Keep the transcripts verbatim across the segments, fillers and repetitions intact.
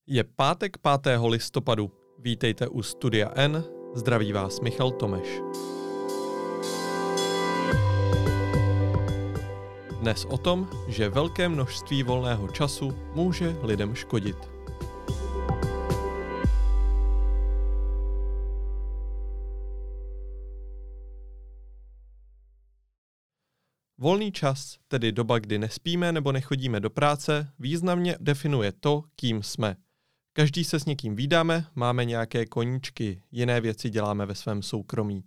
Je pátek pátého listopadu. Vítejte u Studia N. Zdraví vás Michal Tomeš. Dnes o tom, že velké množství volného času může lidem škodit. Volný čas, tedy doba, kdy nespíme nebo nechodíme do práce, významně definuje to, kým jsme. Každý se s někým vídáme, máme nějaké koníčky, jiné věci děláme ve svém soukromí.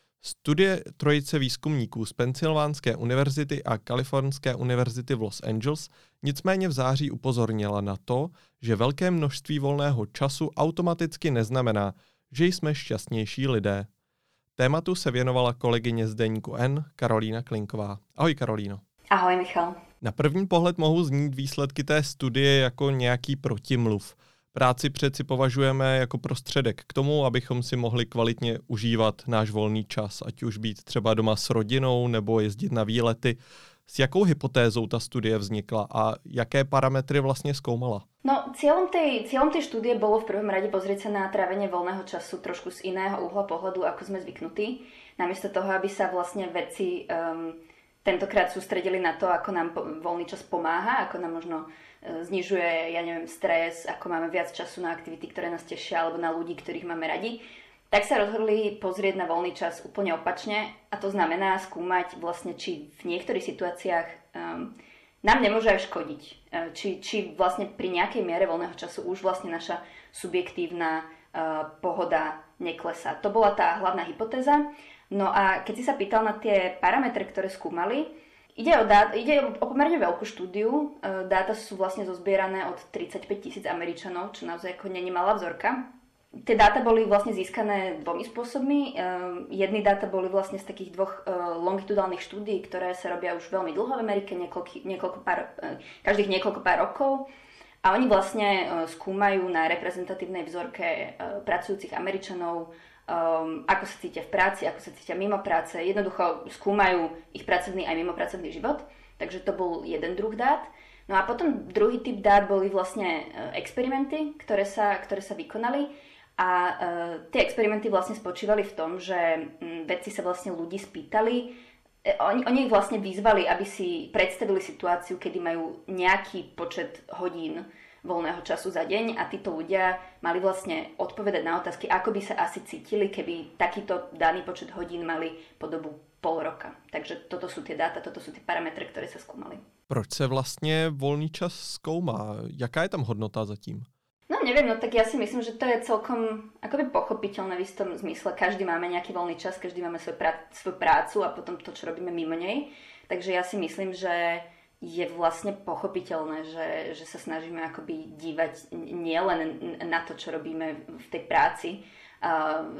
Studie trojice výzkumníků z Pensylvánské univerzity a Kalifornské univerzity v Los Angeles nicméně v září upozornila na to, že velké množství volného času automaticky neznamená, že jsme šťastnější lidé. Tématu se věnovala kolegyně z deníku N, Karolína Klinková. Ahoj Karolíno. Ahoj Michal. Na první pohled mohou znít výsledky té studie jako nějaký protimluv. Práci přeci považujeme jako prostředek k tomu, abychom si mohli kvalitně užívat náš volný čas, ať už být třeba doma s rodinou nebo jezdit na výlety. S jakou hypotézou ta studie vznikla a jaké parametry vlastně zkoumala? No, cieľom tej, cieľom tej štúdie bolo v prvom rade pozrieť sa na trávenie voľného času trošku z iného uhla pohľadu, ako sme zvyknutí. Namiesto toho, aby sa vlastne vedci um, tentokrát sústredili na to, ako nám po, voľný čas pomáha, ako nám možno uh, znižuje, ja neviem, stres, ako máme viac času na aktivity, ktoré nás tešia, alebo na ľudí, ktorých máme radi, tak sa rozhodli pozrieť na voľný čas úplne opačne, a to znamená skúmať vlastne, či v niektorých situáciách um, nám nemôže aj škodiť. Či, či vlastne pri nejakej miere voľného času už vlastne naša subjektívna uh, pohoda neklesá. To bola tá hlavná hypotéza. No a keď si sa pýtal na tie parametre, ktoré skúmali, ide o, dát, ide o pomerne veľkú štúdiu. Uh, dáta sú vlastne zozbierané od tridsaťpäť tisíc Američanov, čo naozaj ako není malá vzorka. Tie dáta boli vlastne získané dvomi spôsobmi. Uh, jedny dáta boli vlastne z takých dvoch uh, longitudálnych štúdií, ktoré sa robia už veľmi dlho v Amerike, niekoľko, niekoľko pár, uh, každých niekoľko pár rokov. A oni vlastne uh, skúmajú na reprezentatívnej vzorke uh, pracujúcich Američanov, um, ako sa cítia v práci, ako sa cítia mimo práce. Jednoducho skúmajú ich pracovný aj mimopracovný život. Takže to bol jeden druh dát. No a potom druhý typ dát boli vlastne uh, experimenty, ktoré sa, ktoré sa vykonali. A uh, tie experimenty vlastne spočívali v tom, že um, vedci sa vlastne ľudí spýtali, e, oni, oni ich vlastne vyzvali, aby si predstavili situáciu, kedy majú nejaký počet hodín voľného času za deň, a títo ľudia mali vlastne odpovedať na otázky, ako by sa asi cítili, keby takýto daný počet hodín mali po dobu pol roka. Takže toto sú tie dáta, toto sú tie parametre, ktoré sa skúmali. Proč se vlastně volný čas zkoumá? Jaká je tam hodnota zatím? No neviem, no tak ja si myslím, že to je celkom akoby pochopiteľné v istom zmysle. Každý máme nejaký voľný čas, každý máme svoj prá- svoju prácu a potom to, čo robíme mimo nej. Takže ja si myslím, že je vlastne pochopiteľné, že, že sa snažíme akoby dívať nielen na to, čo robíme v tej práci, uh,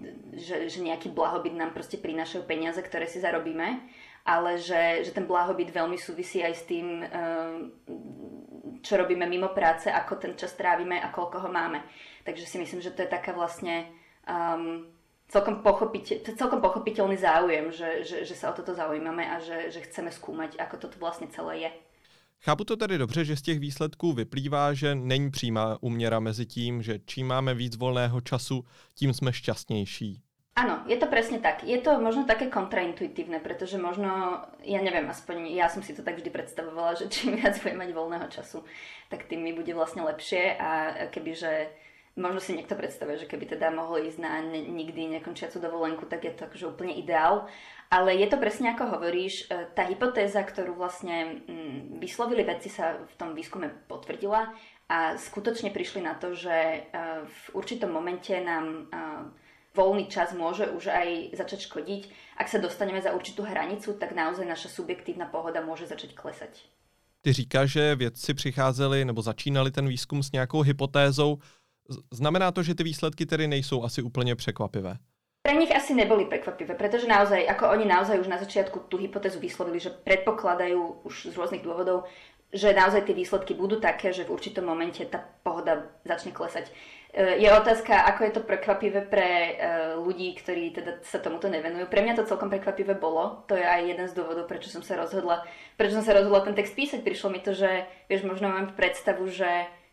že, že nejaký blahobyt nám proste prinášajú peniaze, ktoré si zarobíme, ale že, že ten blahobyt veľmi súvisí aj s tým, čo robíme mimo práce, ako ten čas trávime a koľko ho máme. Takže si myslím, že to je taká vlastne um, celkom, pochopiteľ, celkom pochopiteľný záujem, že, že, že sa o toto zaujímame a že, že chceme skúmať, ako toto vlastne celé je. Chápu to tedy dobře, že z těch výsledků vyplývá, že není přímá úměra mezi tím, že čím máme víc volného času, tím jsme šťastnější. Áno, je to presne tak. Je to možno také kontraintuitívne, pretože možno, ja neviem, aspoň ja som si to tak vždy predstavovala, že čím viac budem mať voľného času, tak tým mi bude vlastne lepšie, a kebyže, možno si niekto predstavuje, že keby teda mohol ísť na nikdy nekončiacu dovolenku, tak je to akože úplne ideál. Ale je to presne ako hovoríš, tá hypotéza, ktorú vlastne vyslovili vedci, sa v tom výskume potvrdila a skutočne prišli na to, že v určitom momente nám voľný čas môže už aj začať škodiť. Ak sa dostaneme za určitú hranicu, tak naozaj naša subjektívna pohoda môže začať klesať. Ty říkáš, že vědci přicházeli nebo začínali ten výzkum s nějakou hypotézou. Znamená to, že ty výsledky tedy nejsou asi úplně překvapivé? Pre nich asi neboli prekvapivé, pretože naozaj, ako oni naozaj už na začiatku tú hypotézu vyslovili, že predpokladajú už z rôznych dôvodov, že naozaj tie výsledky budú také, že v určitom momente tá pohoda začne klesať. Je otázka, ako je to prekvapivé pre ľudí, ktorí teda sa tomuto nevenujú. Pre mňa to celkom prekvapivé bolo. To je aj jeden z dôvodov, prečo som sa rozhodla, prečo som sa rozhodla ten text písať. Prišlo mi to, že vieš, možno mám predstavu, že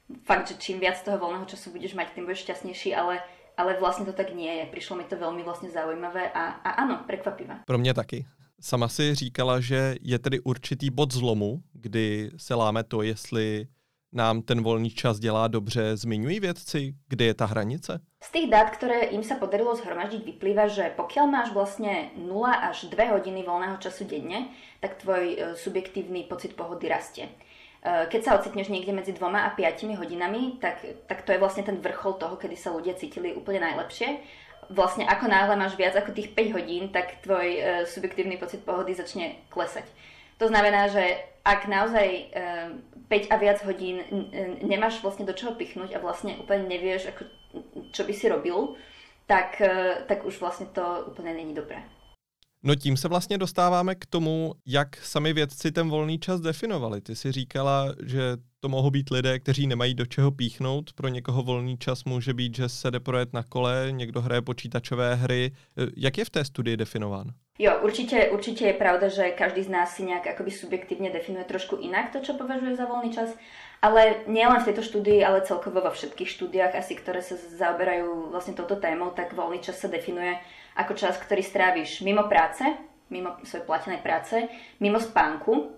fakt, že čím viac toho voľného času budeš mať, tým budeš šťastnejší, ale, ale vlastne to tak nie je. Prišlo mi to veľmi vlastne zaujímavé a, a áno, prekvapivé. Pro mě taky. Sama si říkala, že je tedy určitý bod zlomu, kdy se láme to, jestli nám ten voľný čas dělá dobře. Zmiňují vědci, kde je ta hranice? Z tých dát, ktoré im sa podarilo zhromaždiť, vyplýva, že pokiaľ máš vlastne nula až dve hodiny voľného času denne, tak tvoj subjektívny pocit pohody rastie. Keď sa ocitneš niekde medzi dvoma a piatimi hodinami, tak, tak to je vlastne ten vrchol toho, kedy sa ľudia cítili úplne najlepšie. Vlastne ako náhle máš viac ako tých päť hodín, tak tvoj subjektívny pocit pohody začne klesať. To znamená, že ak naozaj päť a viac hodín nemáš vlastne do čoho pichnúť a vlastne úplne nevieš, ako, čo by si robil, tak, tak už vlastne to úplne není dobré. No tím se vlastně dostáváme k tomu, jak sami vědci ten volný čas definovali. Ty si říkala, že to mohou být lidé, kteří nemají do čeho píchnout. Pro někoho volný čas může být, že se jde projet na kole, někdo hraje počítačové hry. Jak je v té studii definován? Jo, určite, určite je pravda, že každý z nás si nejak akoby subjektívne definuje trošku inak to, čo považuje za voľný čas, ale nielen v tejto štúdii, ale celkovo vo všetkých štúdiách asi, ktoré sa zaoberajú vlastne touto témou, tak voľný čas sa definuje ako čas, ktorý stráviš mimo práce, mimo svojej platenej práce, mimo spánku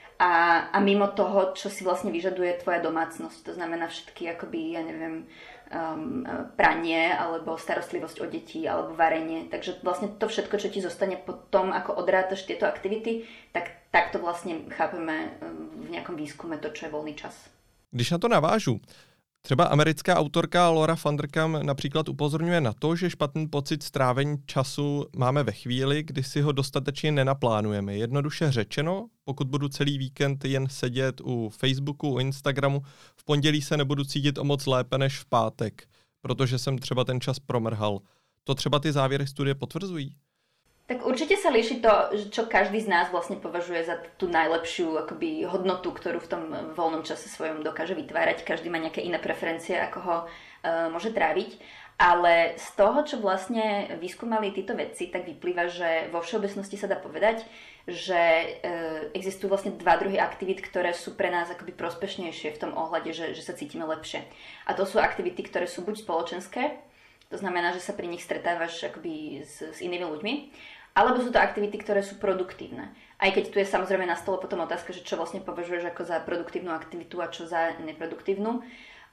a, a mimo toho, čo si vlastne vyžaduje tvoja domácnosť. To znamená všetky akoby, ja neviem, Um, pranie, alebo starostlivosť o deti, alebo varenie. Takže vlastne to všetko, čo ti zostane po tom, ako odrátaš tieto aktivity, tak takto vlastne chápeme v nejakom výskume to, čo je voľný čas. Když na to navážu, třeba americká autorka Laura Vanderkam například upozorňuje na to, že špatný pocit strávení času máme ve chvíli, kdy si ho dostatečně nenaplánujeme. Jednoduše řečeno, pokud budu celý víkend jen sedět u Facebooku, u Instagramu, v pondělí se nebudu cítit o moc lépe než v pátek, protože jsem třeba ten čas promrhal. To třeba ty závěry studie potvrzují? Tak určite sa líši to, čo každý z nás vlastne považuje za tú najlepšiu akoby hodnotu, ktorú v tom voľnom čase svojom dokáže vytvárať. Každý má nejaké iné preferencie, ako ho e, môže tráviť. Ale z toho, čo vlastne vyskúmali títo vedci, tak vyplýva, že vo všeobecnosti sa dá povedať, že e, existujú vlastne dva druhy aktivít, ktoré sú pre nás akoby prospešnejšie v tom ohľade, že, že sa cítime lepšie. A to sú aktivity, ktoré sú buď spoločenské, to znamená, že sa pri nich stretávaš akoby s, s inými ľuďmi, alebo sú to aktivity, ktoré sú produktívne. Aj keď tu je samozrejme na stole potom otázka, že čo vlastne považuješ ako za produktívnu aktivitu a čo za neproduktívnu. Um,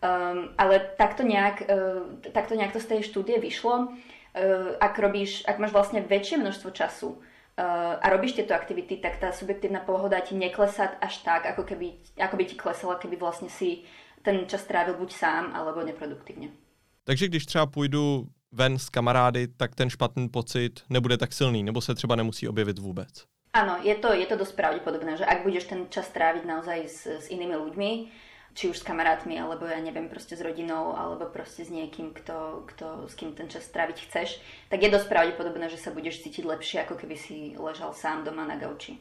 ale takto nejak, uh, takto nejak to z tej štúdie vyšlo. Uh, ak, robíš, ak máš vlastne väčšie množstvo času uh, a robíš tieto aktivity, tak tá subjektívna pohoda ti neklesá až tak, ako, keby, ako by ti klesala, keby vlastne si ten čas trávil buď sám, alebo neproduktívne. Takže když třeba půjdu ven s kamarády, tak ten špatný pocit nebude tak silný, nebo se třeba nemusí objevit vůbec. Áno, je to, je to dosť pravdepodobné, že ak budeš ten čas tráviť naozaj s, s inými ľuďmi, či už s kamarátmi, alebo ja neviem, proste s rodinou, alebo proste s niekým, kto, kto, s kým ten čas tráviť chceš, tak je dosť pravdepodobné, že sa budeš cítiť lepšie, ako keby si ležal sám doma na gauči.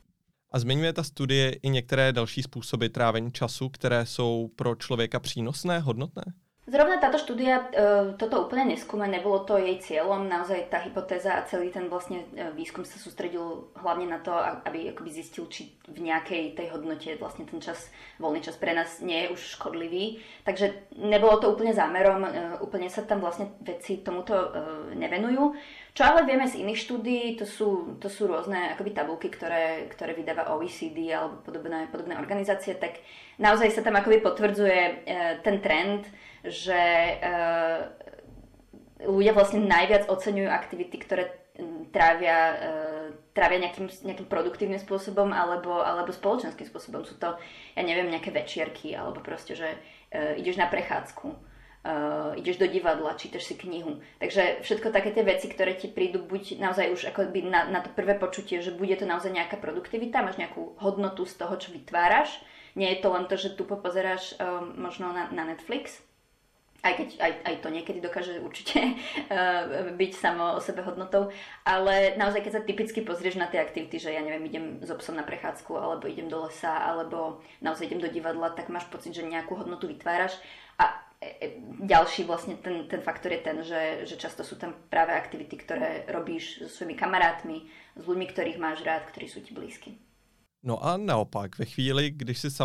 A zmiňuje ta studie i některé další způsoby trávení času, které jsou pro člověka přínosné, hodnotné? Zrovna táto štúdia e, toto úplne neskúma, nebolo to jej cieľom, naozaj tá hypotéza a celý ten vlastne výskum sa sústredil hlavne na to, aby akoby zistil, či v nejakej tej hodnote vlastne ten čas, voľný čas pre nás nie je už škodlivý. Takže nebolo to úplne zámerom, e, úplne sa tam vlastne vedci tomuto e, nevenujú. Čo ale vieme z iných štúdií, to sú, to sú rôzne akoby tabulky, ktoré, ktoré vydáva O E C D alebo podobné, podobné organizácie, tak naozaj sa tam akoby potvrdzuje e, ten trend, že e, ľudia vlastne najviac oceňujú aktivity, ktoré trávia, e, trávia nejakým, nejakým produktívnym spôsobom alebo, alebo spoločenským spôsobom. Sú to, ja neviem, nejaké večierky alebo proste, že e, ideš na prechádzku. Uh, ideš do divadla, čítaš si knihu. Takže všetko také tie veci, ktoré ti prídu buď naozaj už akoby na, na to prvé počutie, že bude to naozaj nejaká produktivita, máš nejakú hodnotu z toho, čo vytváraš. Nie je to len to, že tu popozeráš um, možno na, na Netflix, aj keď aj, aj to niekedy dokáže určite uh, byť samo o sebe hodnotou, ale naozaj keď sa typicky pozrieš na tie aktivity, že ja neviem, idem s obsom na prechádzku, alebo idem do lesa, alebo naozaj idem do divadla, tak máš pocit, že nejakú hodnotu vytváraš. A ďalší vlastne ten, ten faktor je ten, že, že často sú tam práve aktivity, ktoré robíš so svojimi kamarátmi, s ľuďmi, ktorých máš rád, ktorí sú ti blízky. No a naopak, ve chvíli, když si sama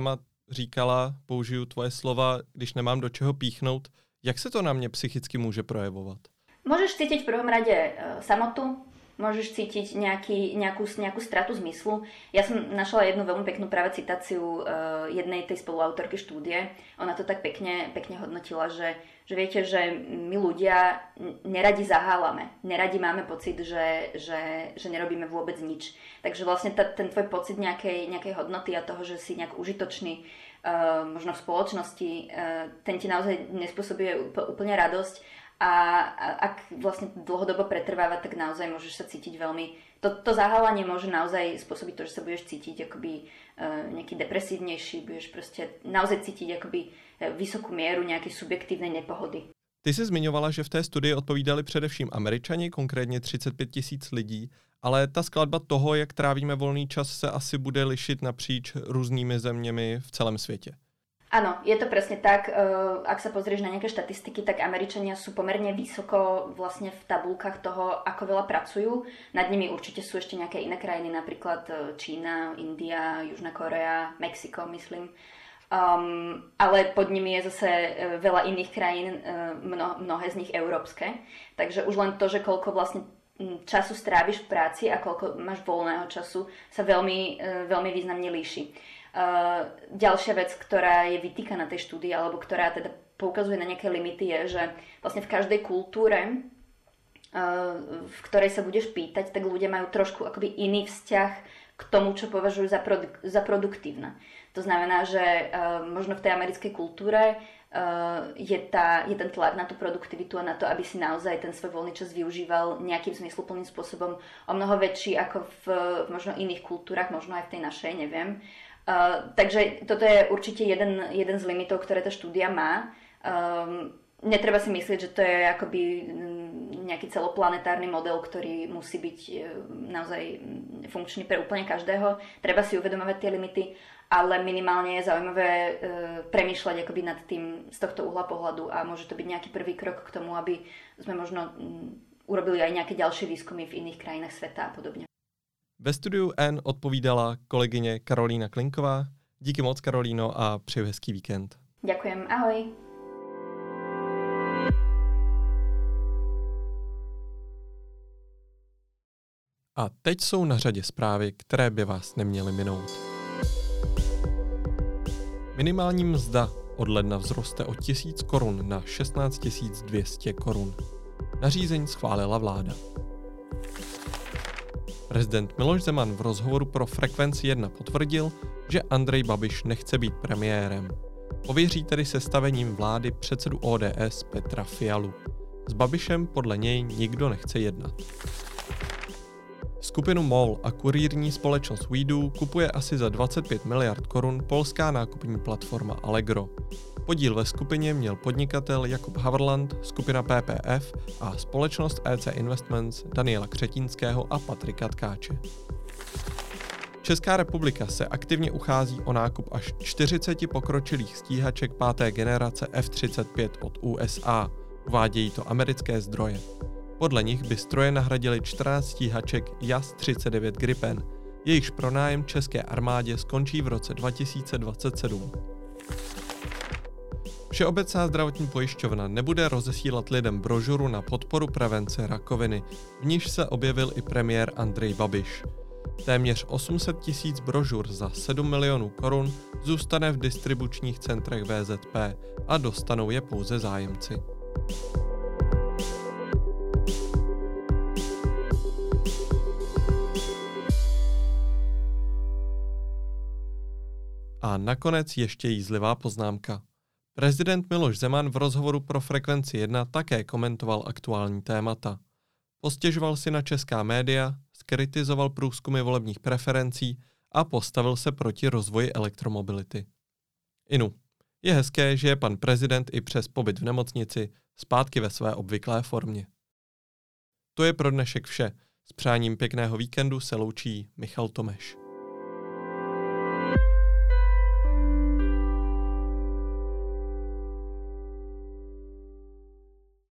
říkala, použiju tvoje slova, když nemám do čeho píchnout. Jak se to na mě psychicky může projevovat? Môžeš cítiť v prvom rade e, samotu, môžeš cítiť nejaký, nejakú, nejakú stratu zmyslu. Ja som našla jednu veľmi peknú práve citáciu e, jednej tej spoluautorky štúdie. Ona to tak pekne, pekne hodnotila, že, že viete, že my ľudia neradi zahálame. Neradi máme pocit, že, že, že nerobíme vôbec nič. Takže vlastne ta, ten tvoj pocit nejakej, nejakej hodnoty a toho, že si nejak užitočný, e, možno v spoločnosti, e, ten ti naozaj nespôsobuje úplne radosť. A ak vlastne dlhodobo pretrváva, tak naozaj môžeš sa cítiť veľmi... To, to zahálanie môže naozaj spôsobiť to, že sa budeš cítiť akoby uh, nejaký depresívnejší, budeš proste naozaj cítiť akoby vysokú mieru nejakej subjektívnej nepohody. Ty jsi zmiňovala, že v té studii odpovídali především Američani, konkrétně třicet pět tisíc lidí, ale ta skladba toho, jak trávíme volný čas, se asi bude lišit napříč různými zeměmi v celém světě. Áno, je to presne tak. Ak sa pozrieš na nejaké štatistiky, tak Američania sú pomerne vysoko vlastne v tabulkách toho, ako veľa pracujú. Nad nimi určite sú ešte nejaké iné krajiny, napríklad Čína, India, Južná Korea, Mexiko, myslím. Um, ale pod nimi je zase veľa iných krajín, mno, mnohé z nich európske. Takže už len to, že koľko vlastne času stráviš v práci a koľko máš voľného času, sa veľmi, veľmi významne líši. Uh, ďalšia vec, ktorá je vytýkaná tej štúdii, alebo ktorá teda poukazuje na nejaké limity, je, že vlastne v každej kultúre, uh, v ktorej sa budeš pýtať, tak ľudia majú trošku akoby iný vzťah k tomu, čo považujú za, produk- za produktívne. To znamená, že uh, možno v tej americkej kultúre uh, je, tá, je ten tlak na tú produktivitu a na to, aby si naozaj ten svoj voľný čas využíval nejakým zmysluplným spôsobom o mnoho väčší ako v, v možno iných kultúrach, možno aj v tej našej, neviem. Uh, takže toto je určite jeden, jeden z limitov, ktoré tá štúdia má. Um, netreba si myslieť, že to je akoby nejaký celoplanetárny model, ktorý musí byť uh, naozaj funkčný pre úplne každého. Treba si uvedomovať tie limity, ale minimálne je zaujímavé uh, premýšľať akoby nad tým z tohto uhla pohľadu a môže to byť nejaký prvý krok k tomu, aby sme možno um, urobili aj nejaké ďalšie výskumy v iných krajinách sveta a podobne. Ve studiu N odpovídala kolegyně Karolína Klinková. Díky moc, Karolíno, a přeju hezký víkend. Ďakujem, ahoj. A teď jsou na řadě zprávy, které by vás neměly minout. Minimální mzda od ledna vzroste o tisíc korun na šestnáct tisíc dvě stě korun. Nařízení schválila vláda. Prezident Miloš Zeman v rozhovoru pro Frekvenci jedna potvrdil, že Andrej Babiš nechce být premiérem. Pověří tedy sestavením vlády předsedu O D S Petra Fialu. S Babišem podle něj nikdo nechce jednat. Skupinu MOL a kurýrní společnost WeDo kupuje asi za dvacet pět miliard korun polská nákupní platforma Allegro. Podíl ve skupině měl podnikatel Jakub Havrland, skupina P P F a společnost E C Investments Daniela Křetínského a Patrika Tkáče. Česká republika se aktivně uchází o nákup až čtyřiceti pokročilých stíhaček páté generace F třicet pět od U S A, uvádějí to americké zdroje. Podle nich by stroje nahradily čtrnáct stíhaček J A S třicet devět Gripen, jejichž pronájem české armádě skončí v roce dva tisíce dvacet sedm. Všeobecná zdravotní pojišťovna nebude rozesílat lidem brožuru na podporu prevence rakoviny, v níž se objevil i premiér Andrej Babiš. Téměř osm set tisíc brožur za sedm milionů korun zůstane v distribučních centrech V Z P a dostanou je pouze zájemci. A nakonec ještě jízlivá poznámka. Prezident Miloš Zeman v rozhovoru pro Frekvenci jedna také komentoval aktuální témata. Postěžoval si na česká média, zkritizoval průzkumy volebních preferencí a postavil se proti rozvoji elektromobility. Inu, je hezké, že je pan prezident i přes pobyt v nemocnici zpátky ve své obvyklé formě. To je pro dnešek vše. S přáním pěkného víkendu se loučí Michal Tomeš.